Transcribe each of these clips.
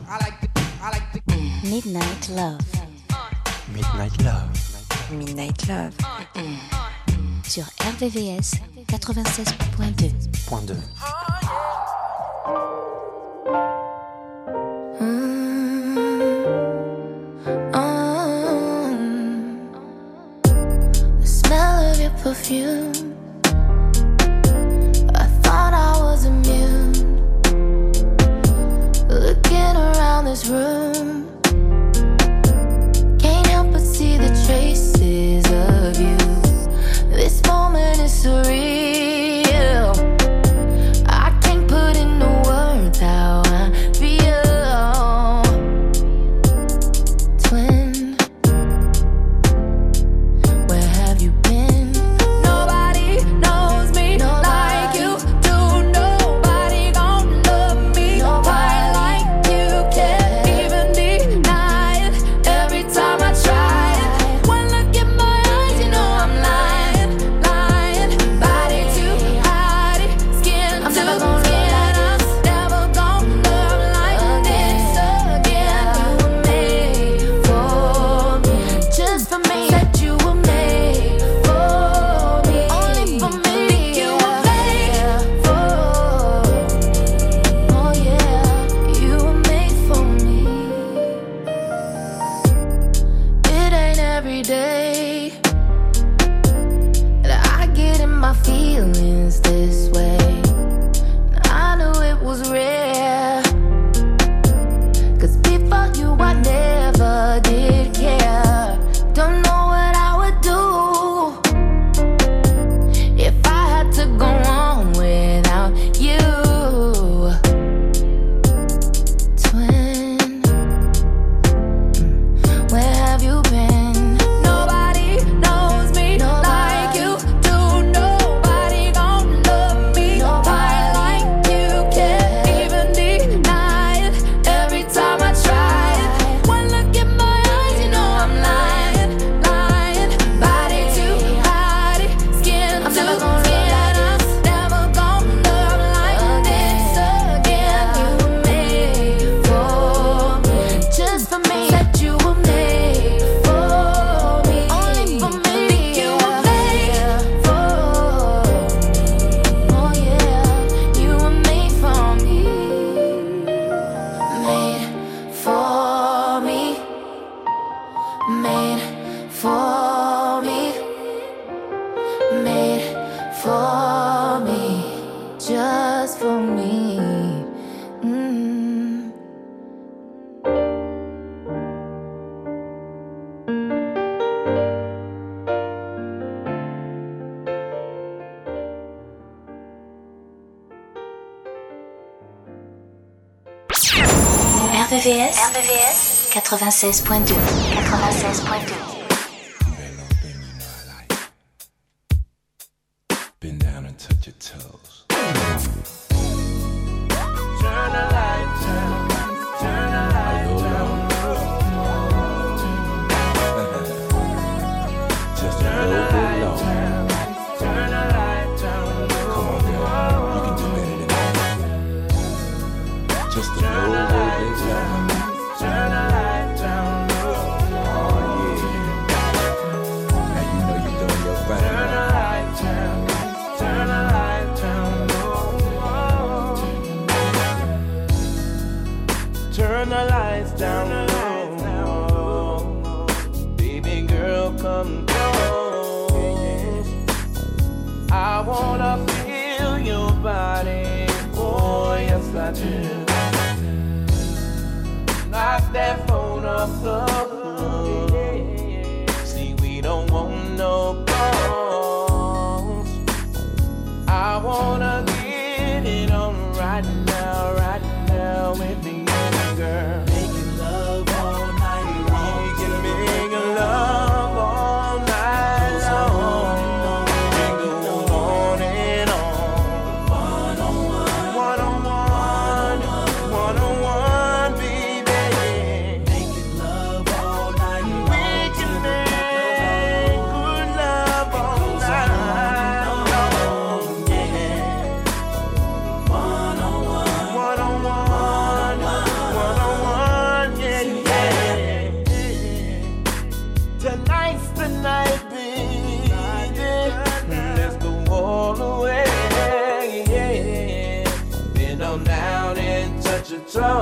Midnight Love. Midnight Love. Midnight Love. Sur RVVS 96.2. Point 2. The smell of your perfume. I thought I was immune. Looking around this room, can't help but see the traces of you. This moment is surreal. I can't put into words how I feel. Twin, where have you been? Nobody knows me like you do. Nobody gon' love me quite like you. Can't even deny it every time I try it. One look in my eyes, you know I'm lying, lying. Body to body, skin to skin. I'm never gon' love like this again. You were made for me, just for me. Said you were made for me, only for me. Think you were made for me. Oh yeah, you were made for me. It ain't every day that I get in my feelings this way. And I knew it was rare, 'cause before you I never did care. Don't know what I would do if I had to go on without you. Twin, where have you been? Nobody knows me like you do. Nobody gon' love me quite like you. Can't even deny it every time I try it. One look in my eyes, you know I'm lying, lying. Body to body, skin to skin. I'm never gon' love like this again. You were made for me, just for me. Said you were made for me, only for me. Think you were made for me. Oh yeah, you were made for me. Made for me. Made for me. Made for me. Just for me. Mm. RVVS 96.2. 96.2. Bend down and touch your toes. Turn the lights down, turn the lights down. Just a little bit low. Turn the lights down. Come on, girl. You can do better than that. Just a little bit low. Turn the lights down. Oh, yeah. Now you know you're doing your thing. Turn the lights down. Turn the lights down. Turn the lights down. Baby girl, come close. I wanna feel your body. Oh, yes, I do. Knock that phone off the hook. See, we don't want no calls. I wanna get it on right now with me, girl. Making love all night long. We can make love all night long. And go on and on. One-on-one, baby. Making love all night long.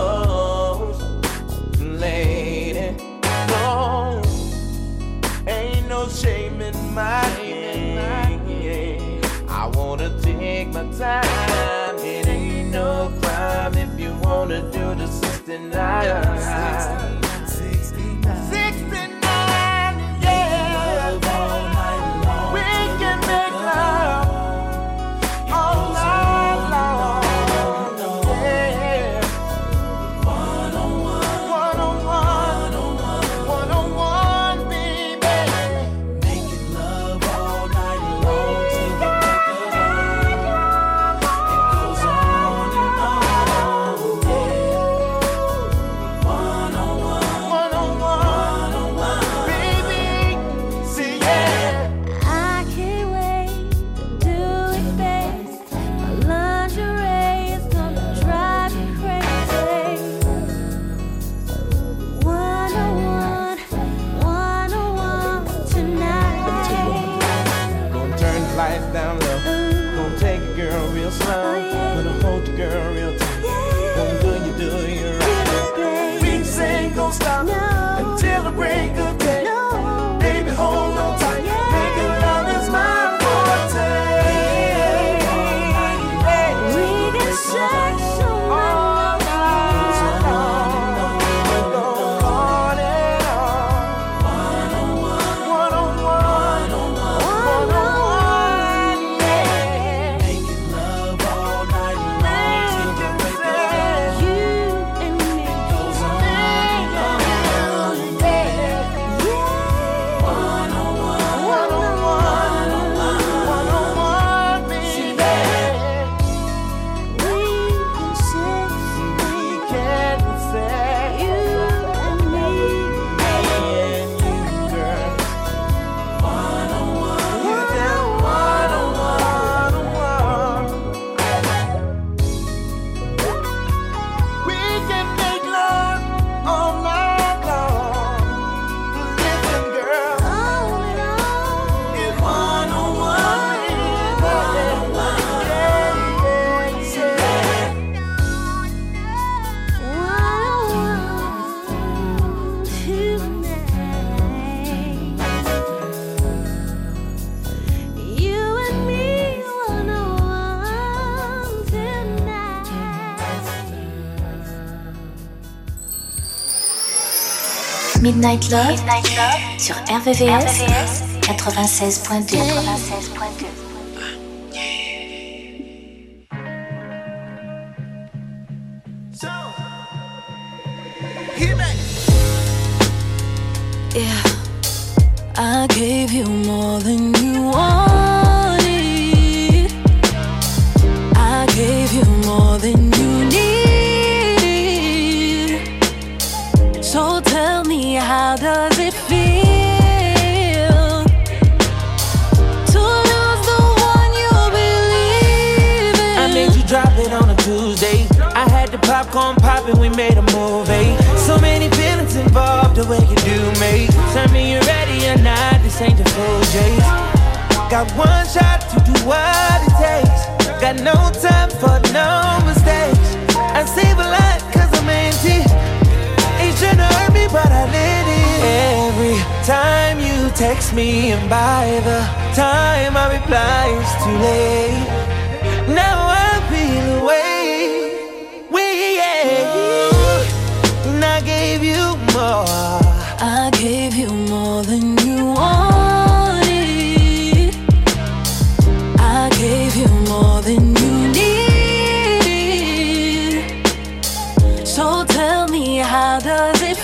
close, lady. No, ain't no shame in my game. I wanna take my time. It ain't no crime if you wanna do the 69. 69, yeah. We can make love all night long. Yeah. One-on-one, baby. Making love all night long till the crack of dawn. It goes on and on, yeah. One-on-one, Baby, see, yeah. I can't wait to do it fast. My lingerie is gonna drive me crazy. One-on-one tonight. Gonna turn the lights down low. Gonna take a girl real slow. Oh, yeah. Gonna hold the girl real tight. Gonna do you right. We just ain't gonna stop No. until the break of day. No. Baby, hold on tight. Making love is my forte. We get sex all night long. We go on and on. One-on-one, yeah. making love all night long till the crack of dawn. You and me. Goes on and on, yeah. One-on-one, One-on-one, baby. We can sex, We can say you and me. and you, girl. one-on-one. You just one-on-one. We can make love all night long. Listen, girl, On and on. it's one-on-one. One-on-one tonight. You and me, one-on-one tonight. Midnight Love, sur RVVS 96.2. 96.2. Yeah, I gave you more than you wanted. I gave you more than you needed. So tell me, how does it feel to lose the one you believe in? I made you drop it on a Tuesday. I had the popcorn poppin', we made a movie. So many feelings involved, the way you do me. Tell me you're ready or not, this ain't the full chase. Got one shot to do what it takes. Got no time for no mistakes. I save a lot cause I'm empty. Ain't tryna hurt me but I let it. Every time you text me and by the time I reply it's too late. Now I feel away. And I gave you more. I gave you more than you wanted. I gave you more than you needed. So tell me, how does it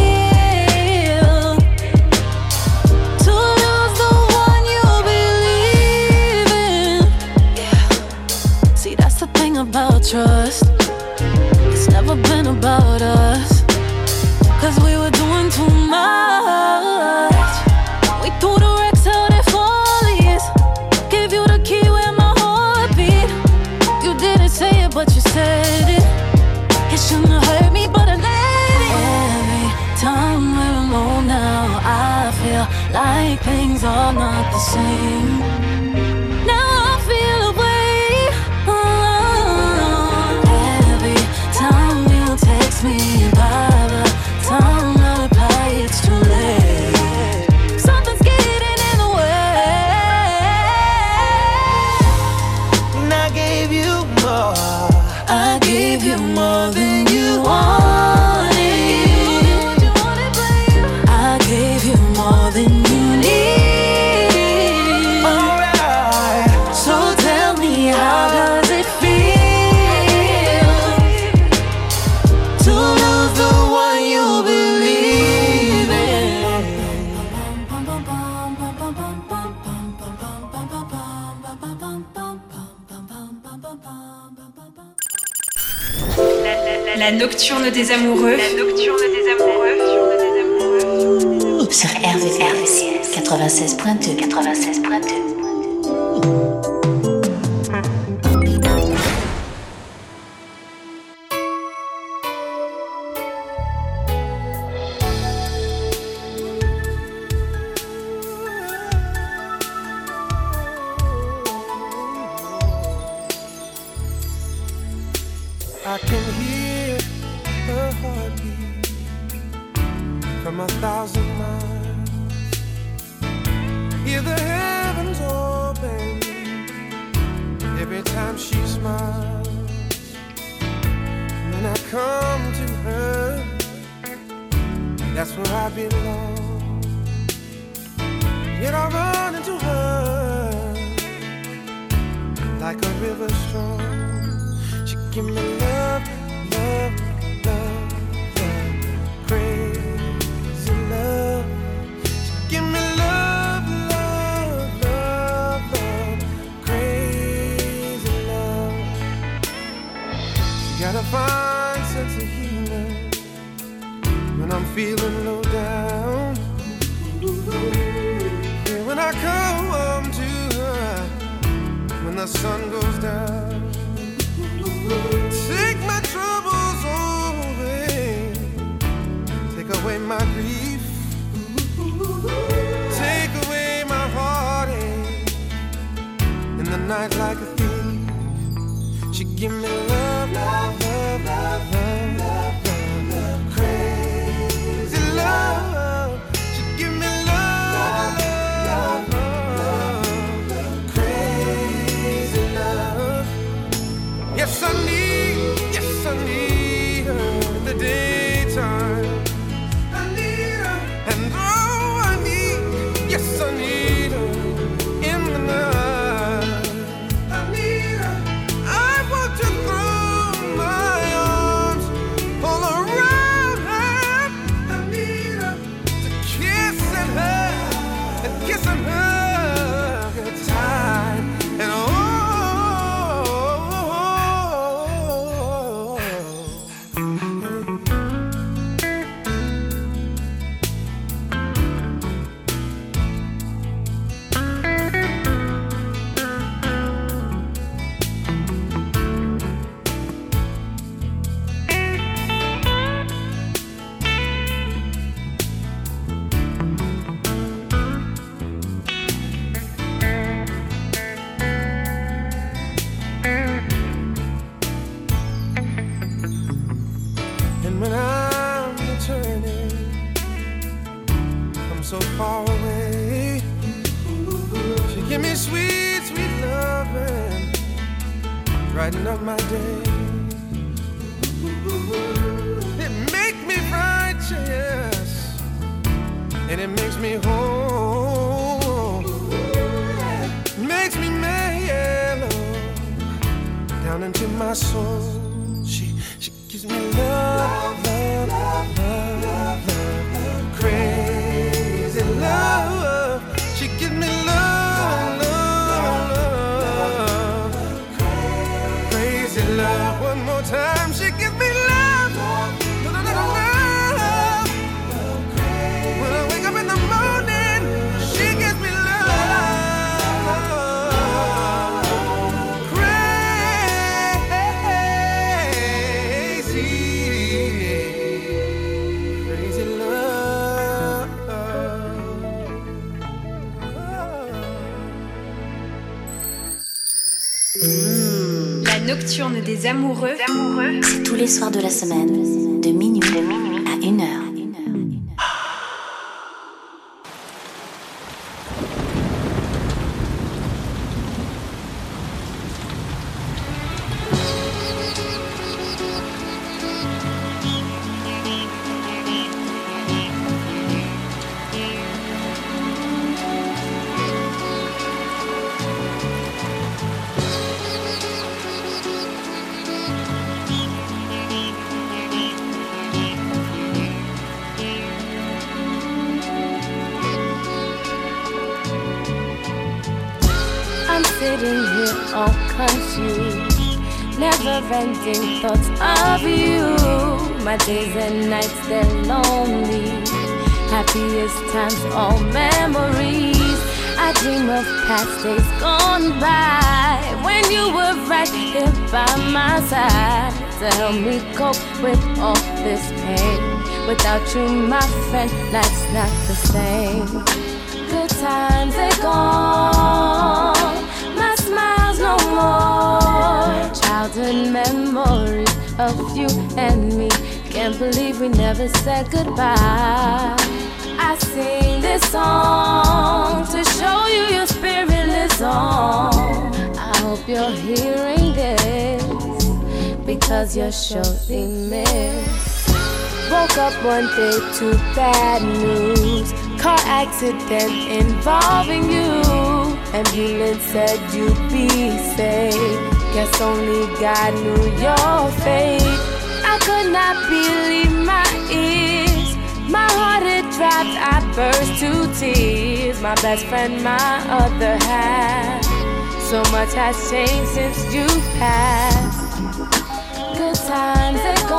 feel to lose the one you believe in? Yeah. See, that's the thing about trust. It's never been about us, 'cause we were doing too much. We threw the wrecks out at Follies. Gave you the key where my heart beat. You didn't say it, but you said it. It shouldn't have hurt me, but I let it. Every time we're alone now, I feel like things are not the same. Now I feel away. Every time you text La nocturne des amoureux. La nocturne des amoureux. Sur RVVS 96.2. 96.2. I can hear her heartbeat from 1,000 miles. Hear the heavens open every time she smiles. When I come to her, that's where I belong. Yet I run into her like a river strong. Give me love, love, love, love, crazy love. Give me love, love, love, love, crazy love. You got a fine sense of humor when I'm feeling low down. Yeah, when I come home to her, when the sun goes down. Take my troubles away, take away my grief, take away my heartache. In the night like a thief, she give me love, love, love, love, love, love, love, crazy love. She give me love, love, love, love, crazy love. Yes, I need her in the daytime. I need her, and oh, I need her in the night. I need her. I want to throw my arms all around her. I need her to kissing her and kissing her good time and oh. So far away, she give me sweet, sweet loving, brighten up my day. It make me righteous, and it makes me whole. Makes me mellow down into my soul. She gives me love, love, love, love, love, love, crazy love. She gives me love, love, love, crazy love. One more time, she gives me love, love, love, love. When I wake up in the morning, she gives me love, crazy love. La nocturne des amoureux. C'est tous les soirs de la semaine, de minuit à 1h. I'm sitting here all confused, never-ending thoughts of you. My days and nights, they're lonely. Happiest times, all memories. I dream of past days gone by, when you were right here by my side to help me cope with all this pain. Without you, my friend, life's not the same. Good times, they're gone. My smile's no more. Childhood memories of you and me. Can't believe we never said goodbye. I sing this song to show you your spirit lives on. I hope you're hearing this, because you're surely missed. Woke up one day to bad news. Car accident involving you. Ambulance said you'd be safe. Guess only God knew your fate. I could not believe my ears. My heart had dropped, I burst to tears. My best friend, my other half. So much has changed since you passed. Good times are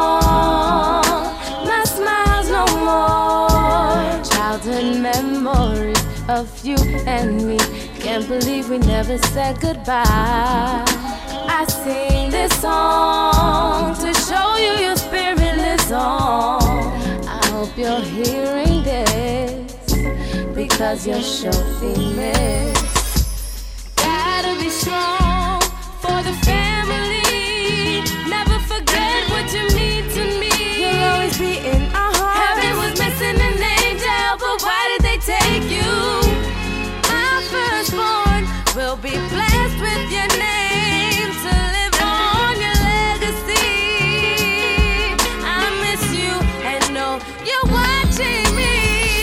gone. My smile's no more. Childhood memories of you and me. Can't believe we never said goodbye. I sing this song to show you your spirit lives on. I hope you're hearing this, because you're surely missed. Gotta be strong for the family. Never forget what you mean to me. You'll always be in our hearts. Heaven was missing an angel, but why did they take you? My firstborn will be blessed with your name to live on your legacy. I miss you and know you're watching me.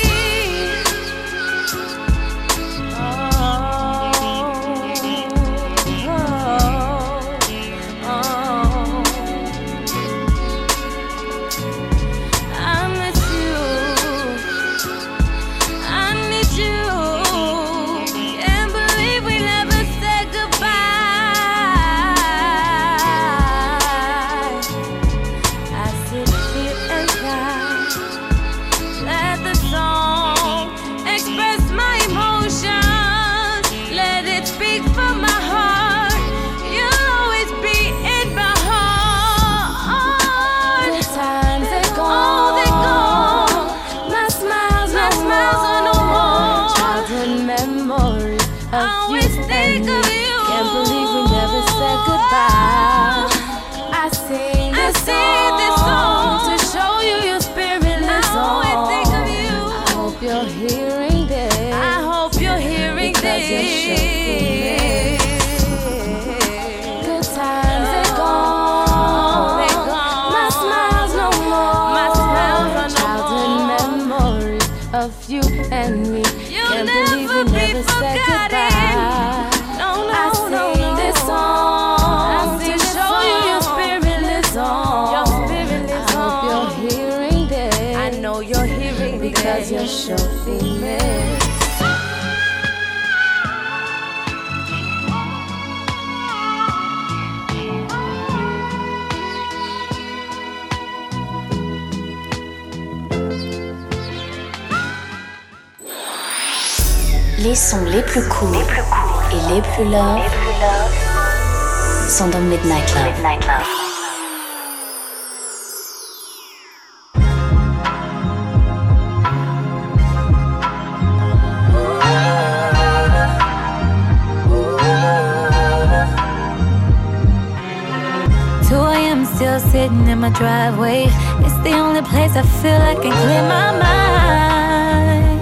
Because you're surely missed. Les sons les plus courts et les plus love sont dans Midnight Love. Still sitting in my driveway. It's the only place I feel I can clear my mind.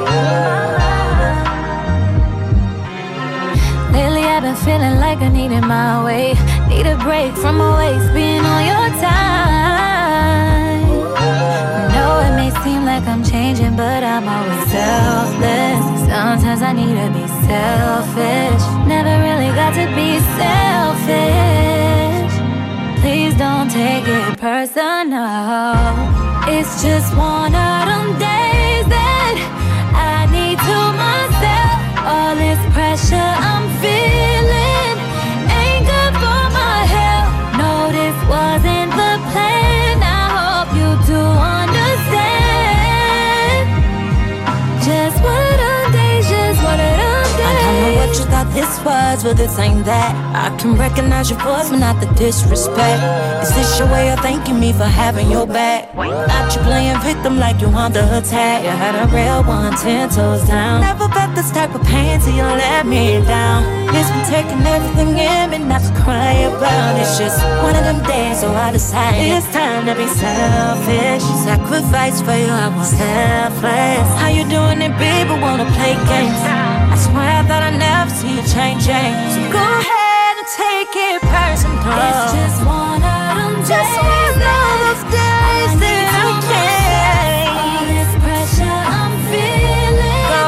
Lately I've been feeling like I needed my way. Need a break from always being on your time. No, it may seem like I'm changing, but I'm always selfless. Sometimes I need to be selfish. Never really got to be selfish. Please don't take it personal. It's just one of them days that I need to myself. All this pressure I'm feeling ain't good for my health. words, but this ain't that. I can recognize your voice, but not the disrespect. Is this your way of thanking me for having your back? Not you playing victim like you under attack. You had a real one, 10 toes down. Never felt this type of pain till you let me down. It's been taking everything in me, not to cry about. It's just one of them days, so I decided it's time to be selfish. Sacrifice for you, I was selfless. How you doing it, baby? Wanna play games? I swear I thought I'd never see you changing. So go ahead and take it personal. It's just one of them days. Just one of those days that I can't. All this pressure I'm feeling. No,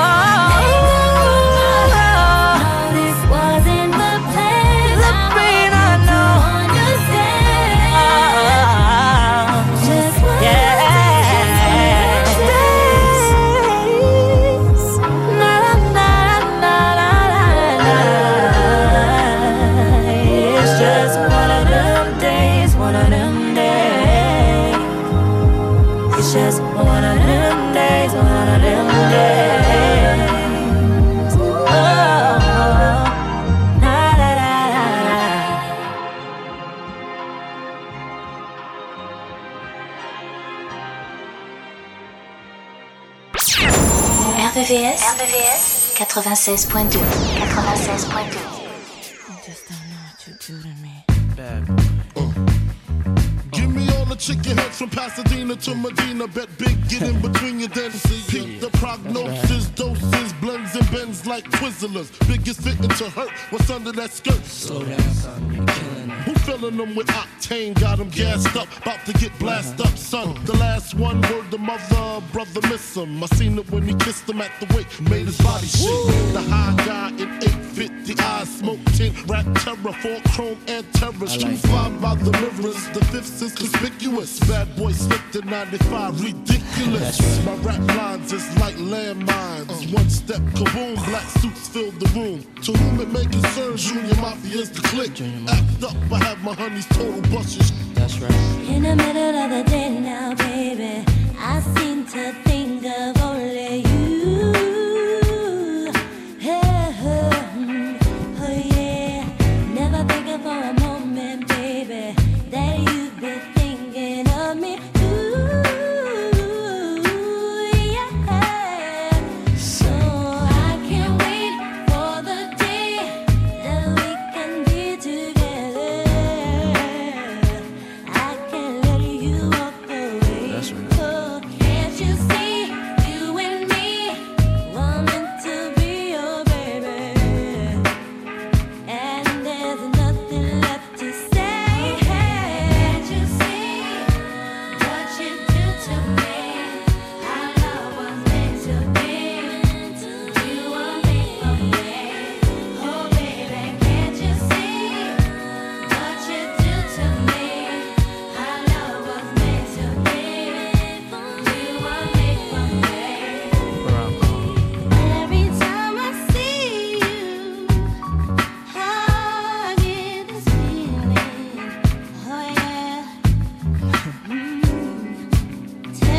this wasn't the plan. The pain I know. Understand. Just one of days. It's just one of them days, one of them days. It's just one of them days, one of them days. Oh, la la la la. RVVS 96.2. 96.2. Give me all the chicken heads from Pasadena to Medina. Bet big, get in between your then see. Peep the prognosis, doses, blends and bends like Twizzlers. Biggest fitting to hurt, what's under that skirt? Slow down, son, you're killing it. Who filling them with octane? Got them gassed up, about to get blasted up, son. The last one, word the mother, brother miss him. I seen it when he kissed him at the wake, made his body shake. The high guy in 850 eyes, smoke tint, rap terror, 4 chrome and terror. Street five by the mirrors, the fifth is conspicuous. Bad boy slipped in 95, ridiculous. My rap lines is like landmines. One step, kaboom, black suits fill the room. To whom it may concern, Junior Mafia's the clique. Act up, I have my honey's total bushes. That's right. In the middle of the day now, baby, I seem to think of only you. Oh yeah, never thinking for a moment, baby, that you've been thinking of me. Ooh, yeah. So I can't wait for the day that we can be together. I can't let you walk away. That's right. Oh, can't you see, you and me were meant to be your baby? And there's nothing left to say. Can't you see what you do to me? Our love was meant to be. You were made for me. Oh baby, can't you see what you do to me? Our love was meant to be. You were made for me. Every time I see you, I get this feeling. Oh yeah. Tell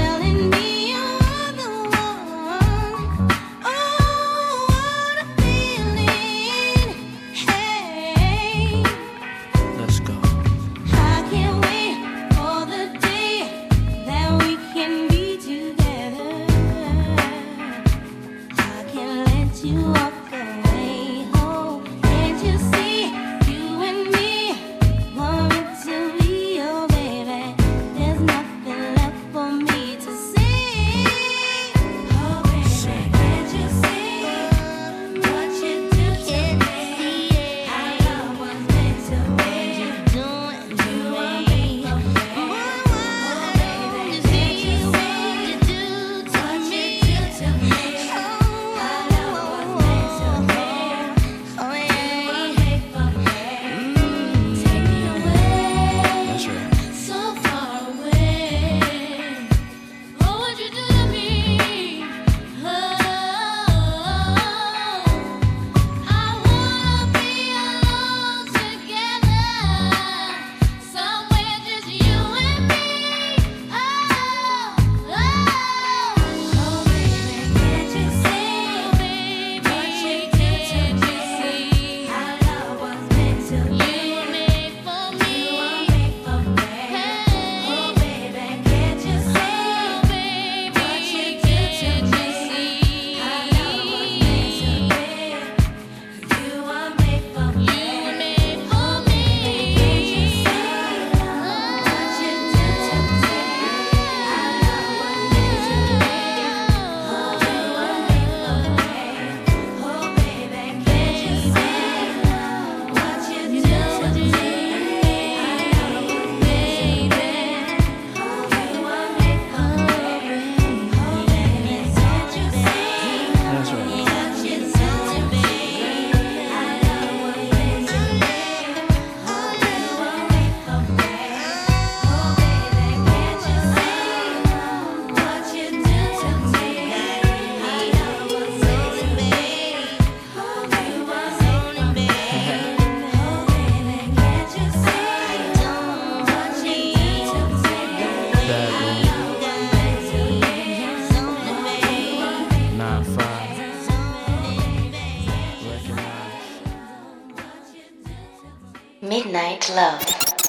Love.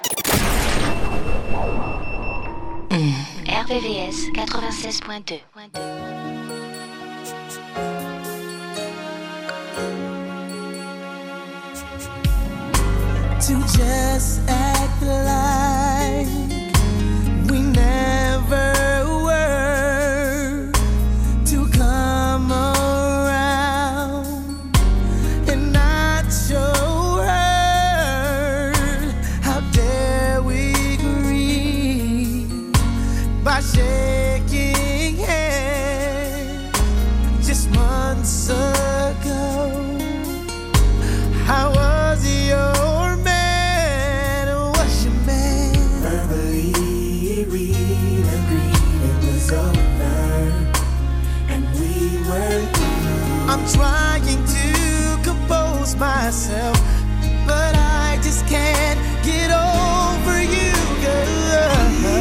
RVVS 96.2. To just act like we never were, to come around and not show her. How dare we grieve by shaking hands just months ago? How was your man? Was your man? Verbally we agreed it was over, and we were through. I'm trying to compose myself, but I just can't get over you, girl.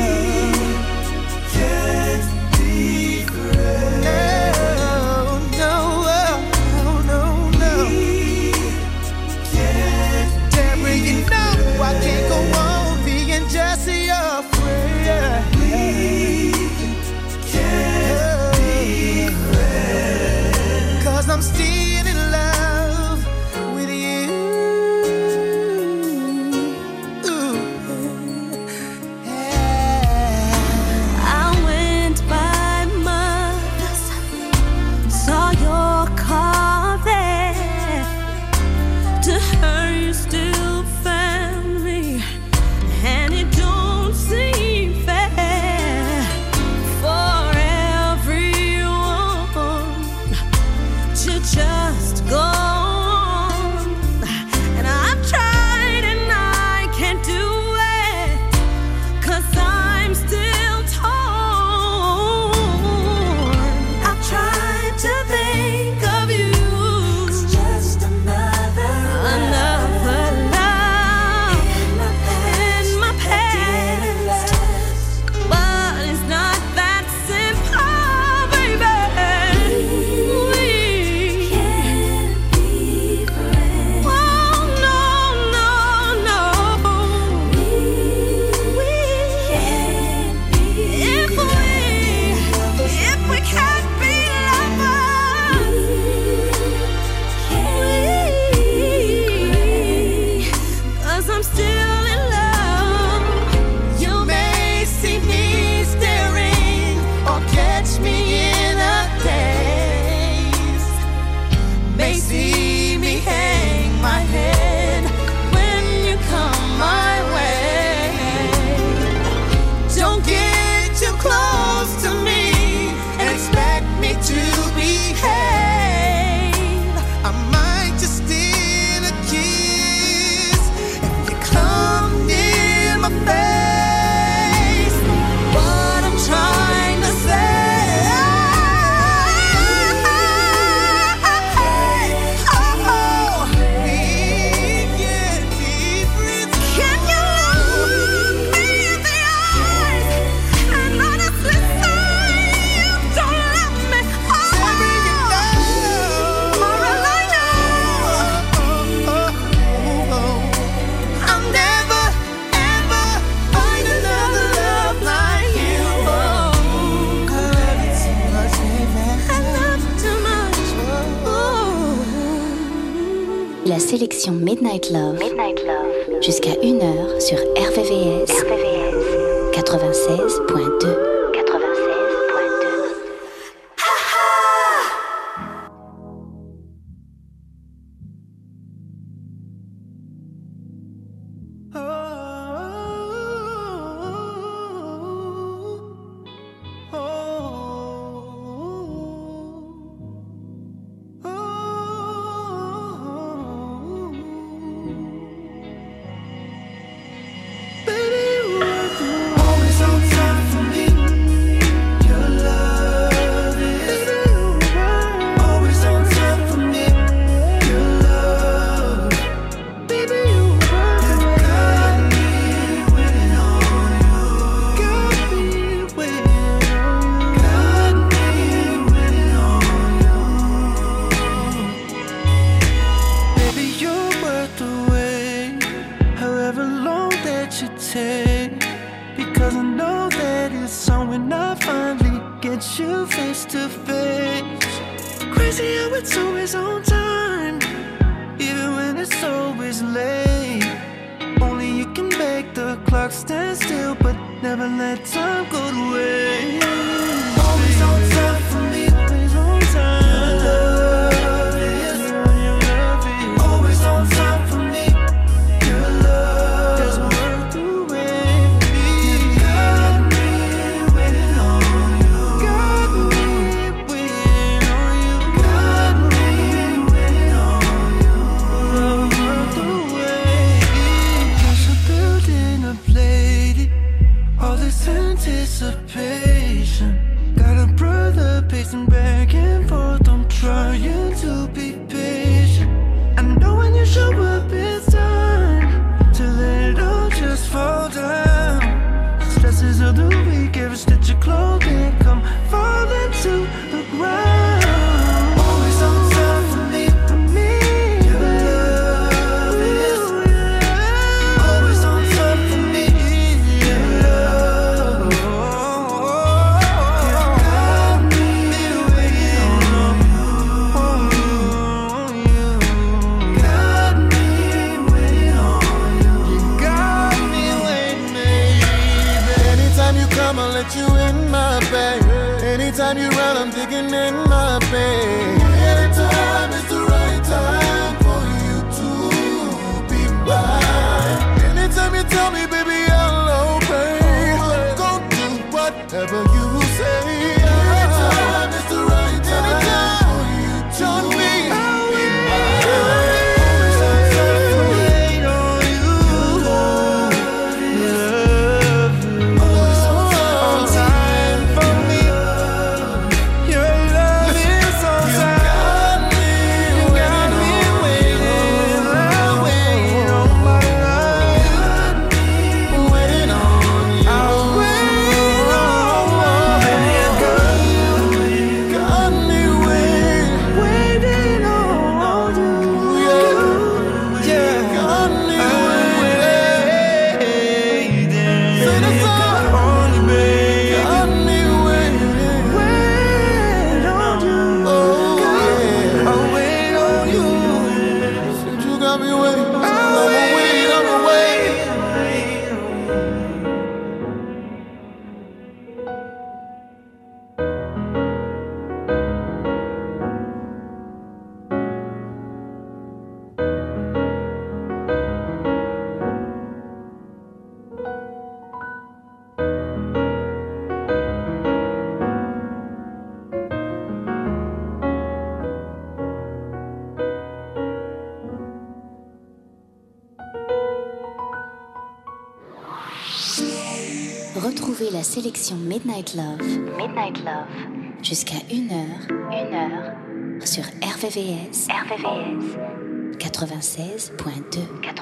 Can't be friends. No. You know I can't go on being just your friend. We can't be friends, 'cause I'm still in love with you. I went by Mother's, saw your car there. To her you still family, and it don't seem fair for everyone to just go on. And I've tried and I can't do it, 'cause I'm still torn. I've tried to think of you, it's just another love in my past, but it's not that simple, baby. We can't be friends. Oh no. We can't be if we can't be lovers. Cause I'm still in love. You may see me staring or catch me in a daze. May see me hang my head when you come my way. Don't get too close to me and expect me to behave. I might just steal a kiss if you come near my face. What I'm trying to say, we can't be friends. Can you look me in the eyes and honestly say you don't love me? For all I know, I'll never ever find another love like you. I love you too much, baby. I love you too much. La sélection Midnight Love. Jusqu'à 1h sur RVVS 96.2. Always on time for me. with you face to face. Crazy how it's always on time, even when it's always late. Only you can make the clock stand still, but never let time go to waste. Always on time for me, always on time. Your love is always on time for me. Your love is worth the wait. You got me waiting on you. Got me waiting on you. Got me waiting on you. Love worth the wait. Just a building, a lady. All this anticipation. Got a brother pacing back and forth. I'm trying to be patient. I know when you show up, it's time to let it all just fall down. Stresses of the week, every stitch of clothing come falling to the ground. Always on time for me, for me. Your love is always on time for me. Your love, you got me waiting on you. Got me waiting on you. You got me waiting, baby. Anytime you come, I'll let you in my bed. Anytime you run, I'm digging in my bed. Anytime is the right time for you to be mine. Anytime you tell me, baby, I'll obey. Go do whatever you say. Anytime is the right time for you to be mine. Always on time for me. Wait on you. Always on time for me. Your love is on time. You got me waiting. I'll wait on my love. Waiting on you. I'll wait on baby, I got Got me waiting. waiting on you. Yeah, Got me I'm waiting. Say the song. On you, baby. Got me waiting. Wait on you. Oh, yeah. I'll wait on you. Said you got me waiting. I'll I'ma wait, I'ma wait. Retrouvez la sélection Midnight Love jusqu'à 1h sur RVVS 96.2.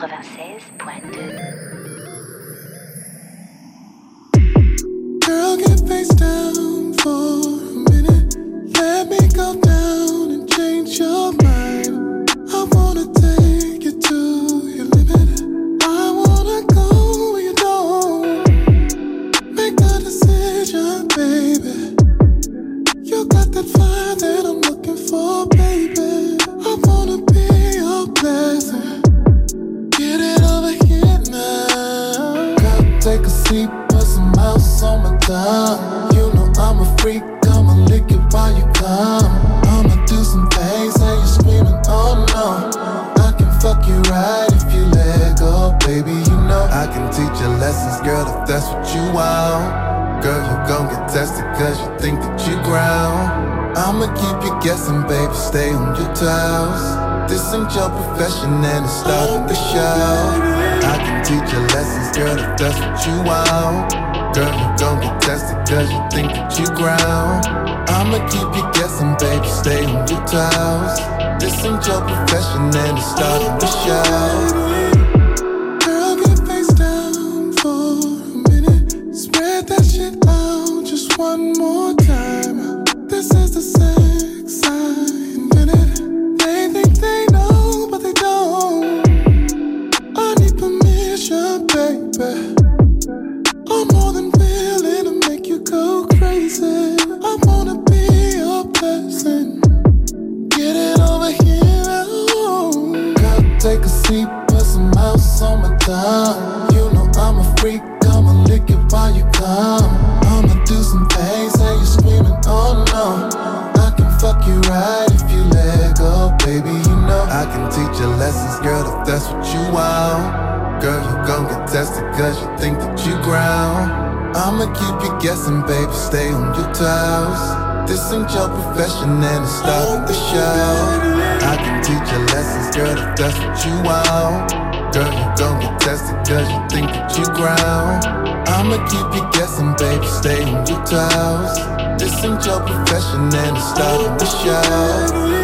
Girl, get face down for a minute. Let me go down and change your mind. I wanna take you to your limit. I wanna go where you don't. Make the decision, baby. You got that fire that I'm looking for, baby. I wanna be your blessing. Get it over here now. Girl, take a seat, put some mouse on my tongue. You know I'm a freak, I'ma lick it while you come. I'ma do some things and you're screaming, oh no. I can fuck you right if you let go, baby. You know I can teach you lessons, girl, if that's what you want. Girl, you gon' get tested cause you think that you ground. I'ma keep you guessing, baby, stay on your toes. This ain't your profession and it's starting to show. I can teach you lessons, girl, if that's what you want. Girl, you gon' get tested cause you think that you ground. I'ma keep you guessing, baby, stay on your toes. This ain't your profession and it's starting to show. Girl, get face down for a minute. Spread that shit out just one more time. This is the sex I invented. They think they know, but they don't. I need permission, baby. I'm more than willing to make you go crazy. I want cause you think that you ground. I'ma keep you guessing, baby, stay on your toes. This ain't your profession and it's starting to show. I can teach you lessons, girl, if that's what you want. Girl, you gon' get tested cause you think that you ground. I'ma keep you guessing, baby, stay on your toes. This ain't your profession and it's starting to show.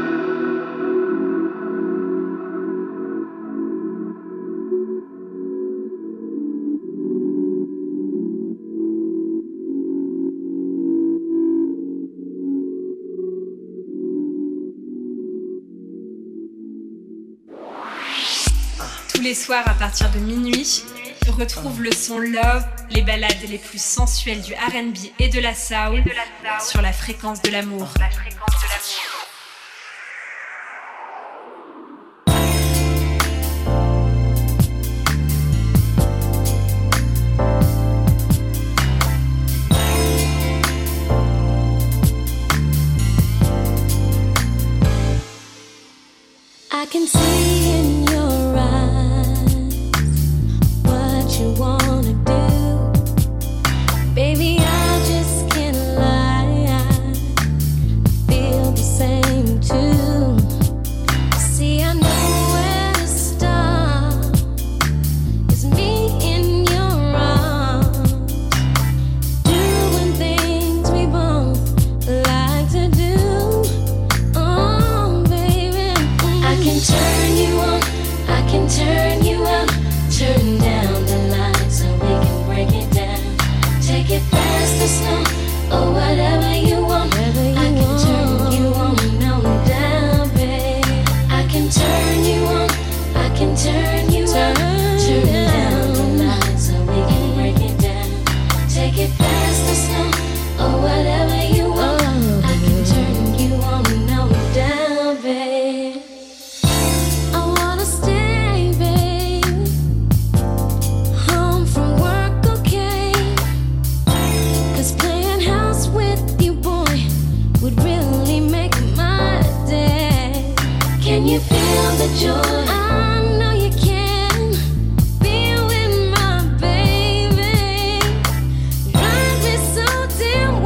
Tous les soirs à partir de minuit, retrouve le son Love, les ballades les plus sensuelles du R&B et de la soul sur la fréquence de l'amour. I can see in your eyes what you wanna do. Baby, I just can't lie, I feel the same too. See, I know where to start. It's me in your arms, doing things we both like to do. Oh, baby, I can turn you on, I can turn you up. Turn down the lights so we can break it down. Take it fast or slow, or whatever you want. I can turn you on and on down, babe. I can turn you on, I can turn you up. Turn down the lights so we can break it down. Take it fast or slow, or whatever you want. I can turn you on and on down, babe. I wanna stay, babe, home from work, okay? 'Cause playing house with you, boy, would really make my day. Can you feel the joy? I know you can. Be with my baby. Drive me so damn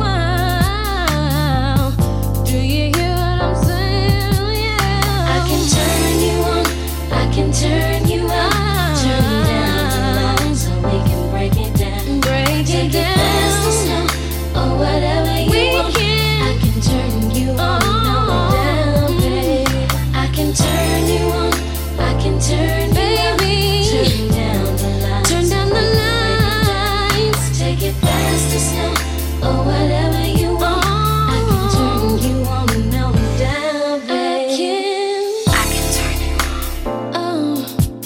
wild. Do you hear what I'm saying? Yeah. I can turn you on, I can turn you up. Turn down the lights so we can break it down. Take it fast or slow, or whatever you want. I can turn you on and on down, babe. I can turn you on, I can turn you up. Turn down the lights, turn down the lights. Take it fast or slow, or whatever you want. I can turn you on and on down, babe. I can turn you on. Oh,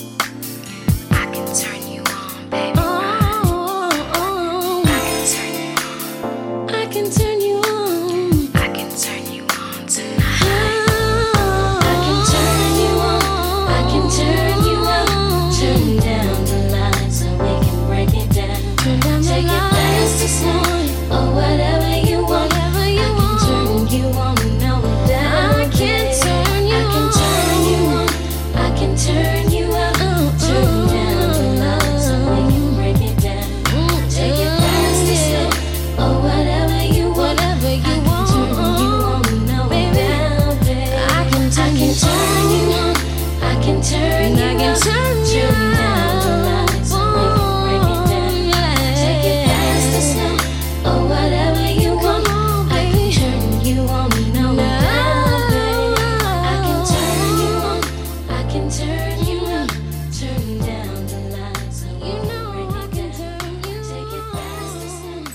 I can turn you on, baby. Oh, I can turn you on. I can turn you on. I can turn you on tonight. I can turn you on. I can turn you up. Turn down the lights so we can break it down. Take it fast or slow, or whatever you want. I can turn you on and on down. I can turn you on. I can turn you on. I can turn you up. Turn down the lights so we can break it down. Take it fast or slow, or whatever you want. I can turn you on and on down, babe. I can turn you on. I can turn you up. Turn down the lights so we can break it down. Take it fast or slow, or whatever you want. I can turn you on and on down, babe. I can turn you on. I can turn you up. Turn down the lights so we can break it down. Take it fast or slow.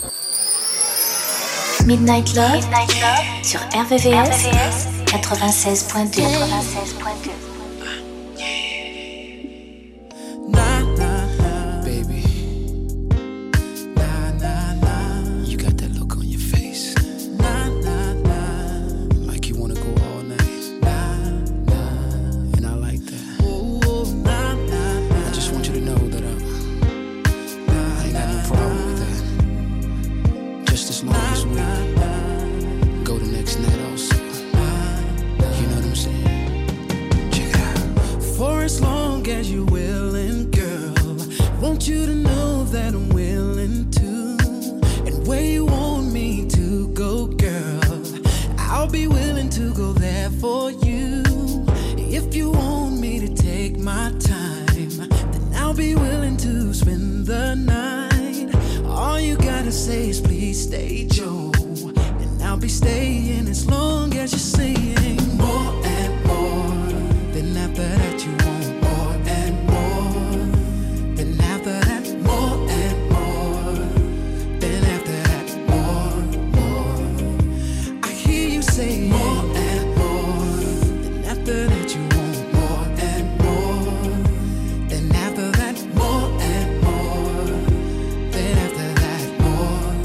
Midnight Love, sur RVVS 96.2. Baby. You got that look on your face. Like you wanna go all night. And I like that. I just want you to know that I ain't got no problem with that. Just as long as we go the next night also. You know what I'm saying? Check need you. And I'll be staying as long as you're saying more and more. Then after that you want more and more. Then after that more and more. Then after that more. I hear you say more and more. Then after that you want more and more. Then after that more and more. Then after that more.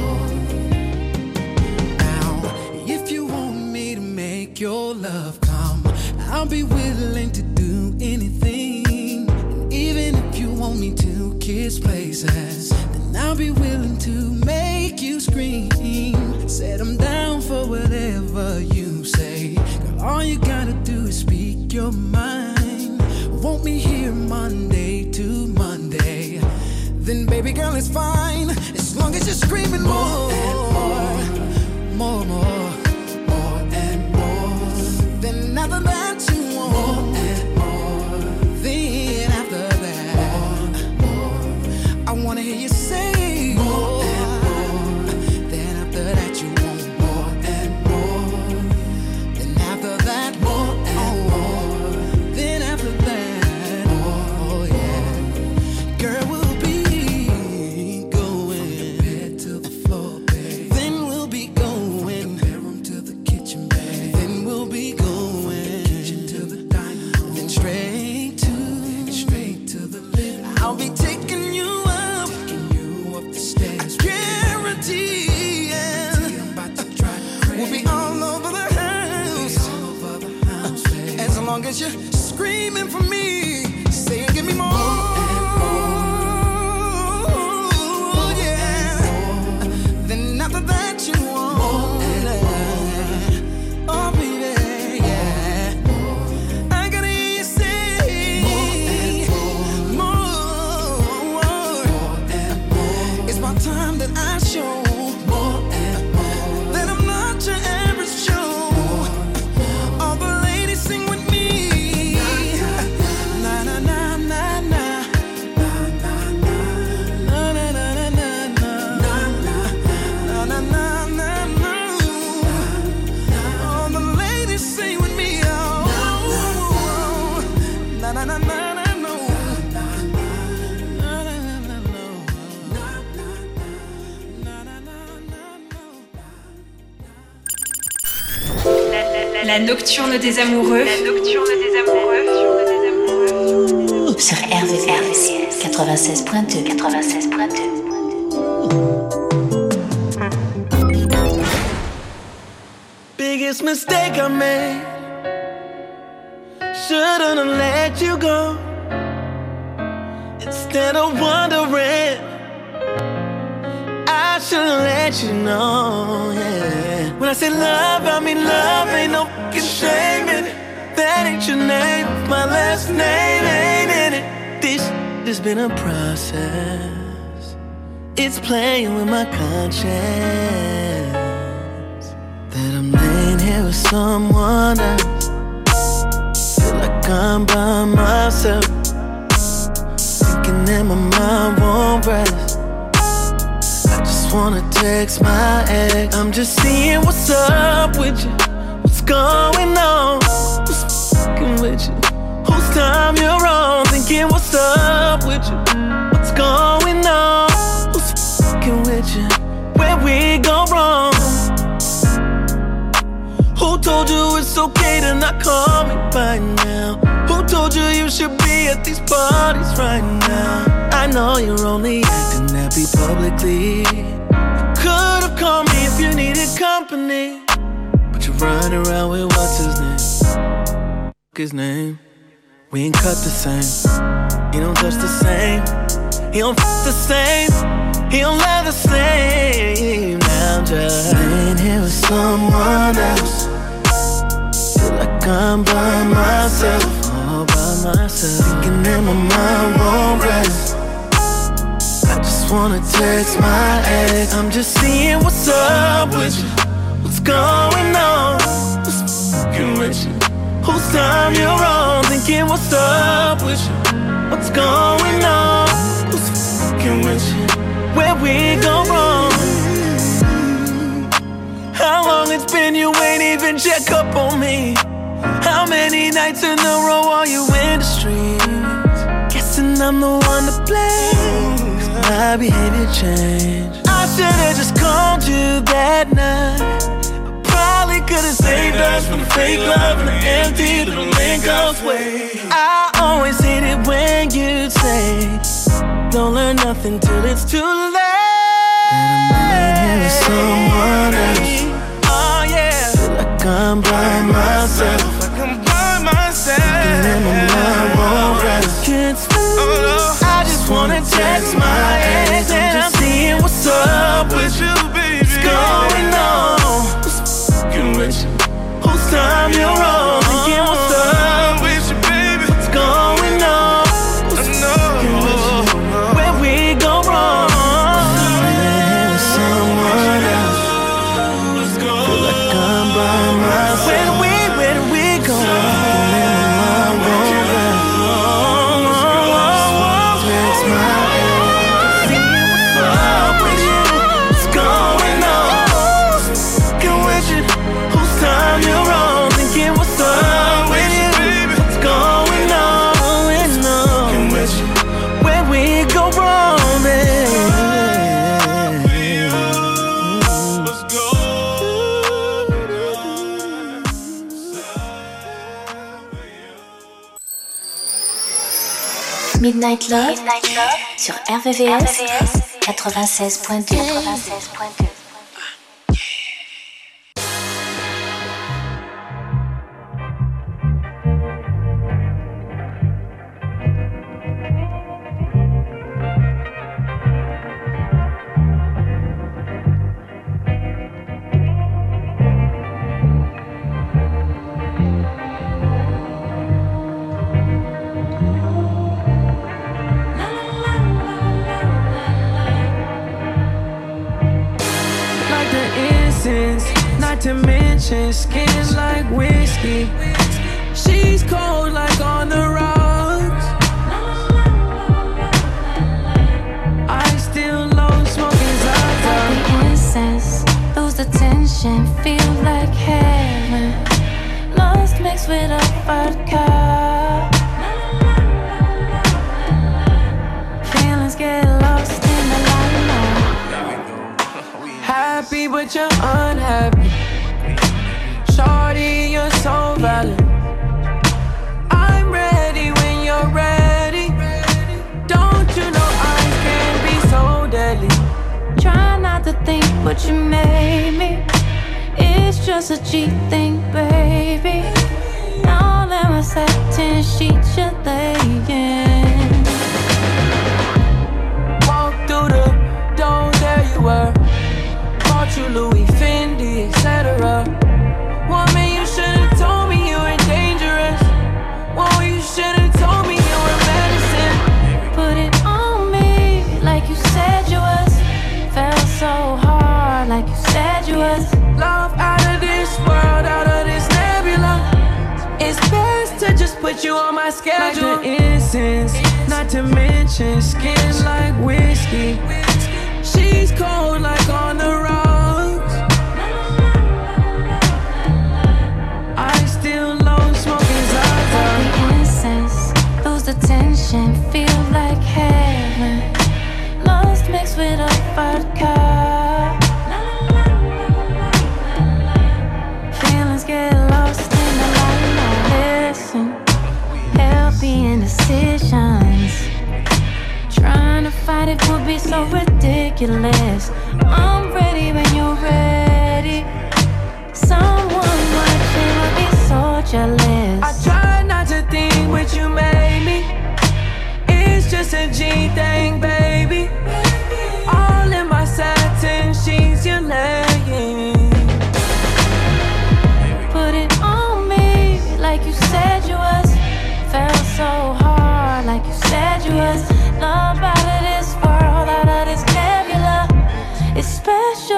Now, if you want me to make your love come, I'll be willing to do anything. And even if you want me to kiss places, then I'll be willing to make you scream. Said I'm down for whatever you say. Girl, all you gotta do is speak your mind. Want me here Monday to Monday, then baby girl it's fine. As long as you're screaming more and more, more, more, more and more. Then after that you want more and more. Then after that more. I wanna hear you say more and more. Then after that you want more and more. Then after that more and more. Then after that more, yeah. Girl, we'll be going from the bed to the floor, babe. Then we'll be going from the bedroom to the kitchen, babe. Then we'll be going from the kitchen to the dining room. Then straight to the living room. I'll be taking you up the stairs. I guarantee, yeah. I'm about to drive you crazy. We'll be all over the house. As long as you're screaming for me, saying give me more. Yeah. Then after that you want oh baby, yeah. I gotta hear you say more. It's my time that I show that I'm not your average Joe. All the ladies sing with me. Na na na na na. Na na na na na na na na na na na. All the ladies sing with me. Oh, na na na na na. La nocturne des amoureux. La nocturne des amoureux. Sur RVCS 96.2. 96.2. Biggest mistake I made. Shouldn't have let you go. Instead of wondering, I should've let you know, yeah. When I say love, I mean love. Ain't no fucking shame in it. That ain't your name, my last name ain't in it. This has been a process. It's playing with my conscience. That I'm laying here with someone else. Feel like I'm by myself. Thinking that my mind won't rest. I just wanna text my ex. I'm just seeing what's up with you. What's going on? Who's fucking with you? Whose time you're on? Thinking what's up with you? What's going on? Who's fucking with you? Where we go wrong? Who told you it's okay to not call me right now? Who told you you should be at these parties right now? I know you're only acting happy publicly. You could've called me if you needed company. But you're running around with what's his name? His name. We ain't cut the same. He don't touch the same. He don't f the same. He don't love the same. Now I'm just laying here with someone else. Feel like I'm by myself. All by myself. Thinking that my mind won't rest. I just wanna text my ex. I'm just seeing what's up with you. What's going on? What's fucking with you? Whose time you're on? Thinking what's up with you? What's going on? Who's fucking with you? Where we go wrong? hoping you ain't even check up on me. How many nights in a row are you in the streets? Guessing I'm the one to blame. My behavior changed. I should've just called you that night. Probably could've saved us from the fake love and the empty little link-ups way. I always hate it when you say don't learn nothing till it's too late. And I'm with someone else. Oh yeah. Feel like I'm by myself. Like I'm by myself. And my mind won't rest. Can't sleep. Oh no. I just wanna text my ex and I'm seeing what's up with you, baby. What's going on? With you. Whose time you're on? Thinking what's up with you, baby? What's going on? Where we go wrong? With someone else. Let's go. Feel like I'm by myself. Where do we go? Text my ex. See what's up with you. What's going on? Get with you. Time you're wrong, thinking what's up with you? What's going on? Where we go wrong, baby? Let's go. Midnight Love sur RVVS 96.2. To mention skin like whiskey. She's cold like on the rocks. I still love smoking Zaza. The incense, lose the tension, feel like heaven. Lost mixed with a vodka. Feelings get lost in the limelight. Happy but you're unhappy. Shorty, you're so valid. I'm ready when you're ready. Don't you know eyes can be so deadly? Try not to think what you made me. It's just a cheap thing, baby. All that my satin sheets you're laying. Walk through the door, there you were. Bought you Louis, Fendi, etc. Woman, you should've told me you were dangerous. Whoa, you should've told me you were medicine. Put it on me like you said you was. Felt so hard like you said you was. Love out of this world, out of this nebula. It's best to just put you on my schedule. Like the incense, not to mention skin like whiskey. She's cold like on the rocks. I still love smoking Zaza. The incense, lose the tension, feel like heaven. Lost mixed with a vodka. Feelings get lost in the limelight. Listen, healthy indecisions. Trying to fight it would be so ridiculous. I'm ready when you're ready. Someone watching would be so jealous. I try not to think what you made me. It's just a G thing, baby. All in my satin sheets you're laying. Put it on me like you said you was. Felt so hard like you said you was. Love out of this world, out of this nebula. It's special.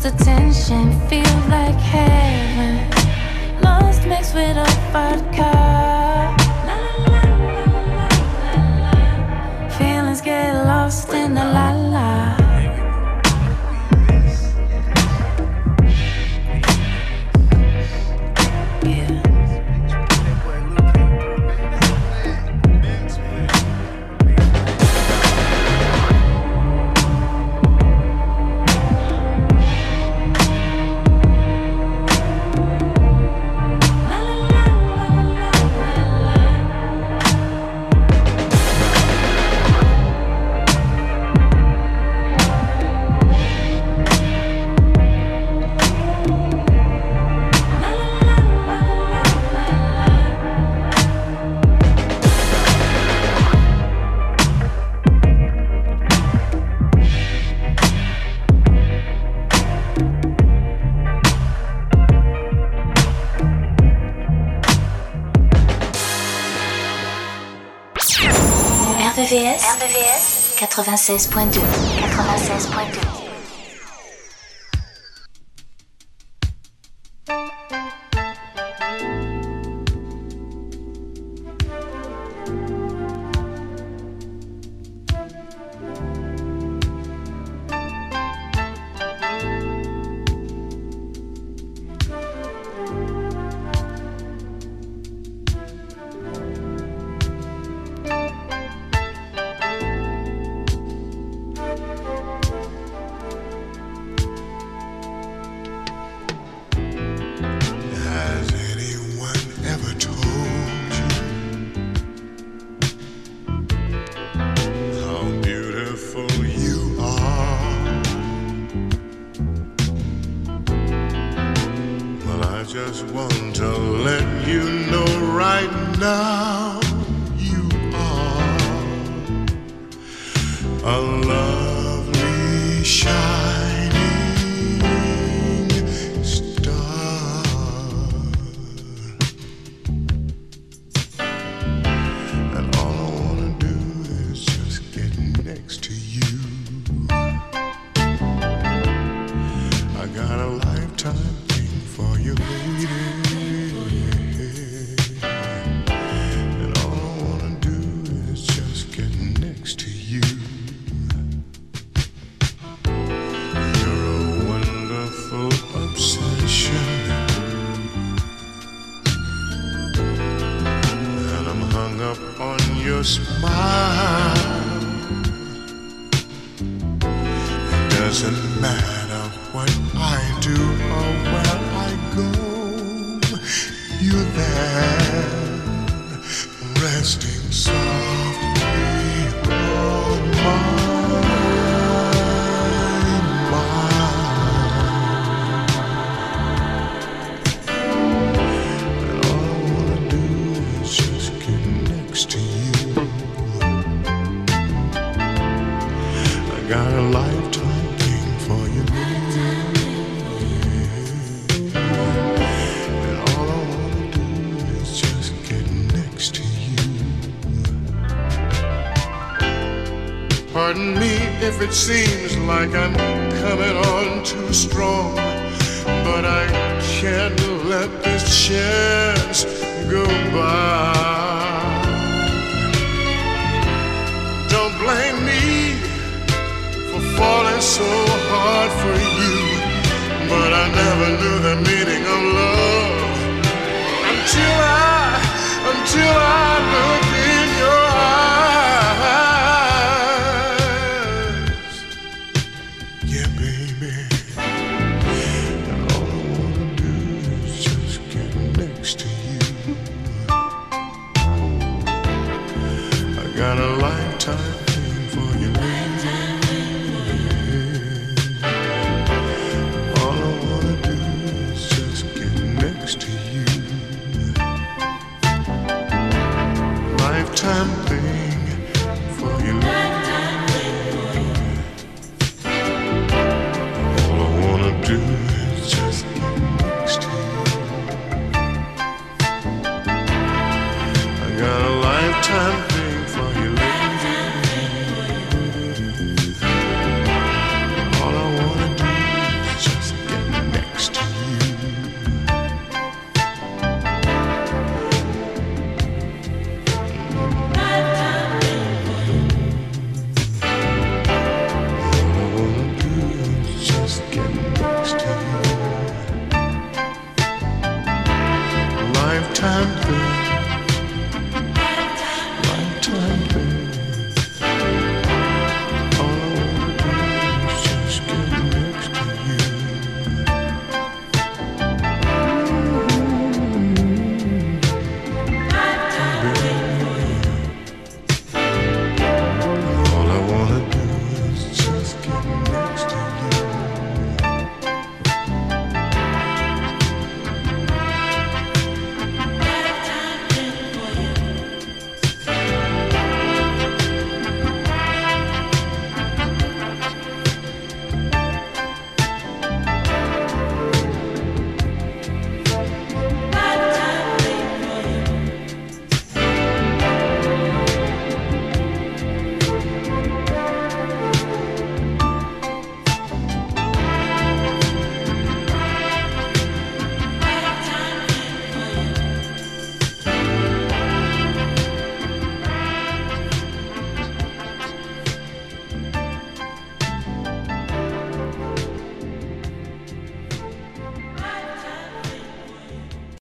close attention, feels like heaven. Lost mixed with a vodka. Feelings get lost in the la-la. RVVS 96.2. Pardon me if it seems like I'm coming on too strong, but I can't let this chance go by. Don't blame me for falling so hard for you, but I never knew the meaning of love until I looked in your eyes. Got a life